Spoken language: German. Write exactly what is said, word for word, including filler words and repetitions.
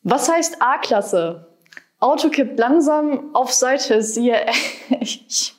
Was heißt A-Klasse? Auto kippt langsam auf Seite, siehe ich.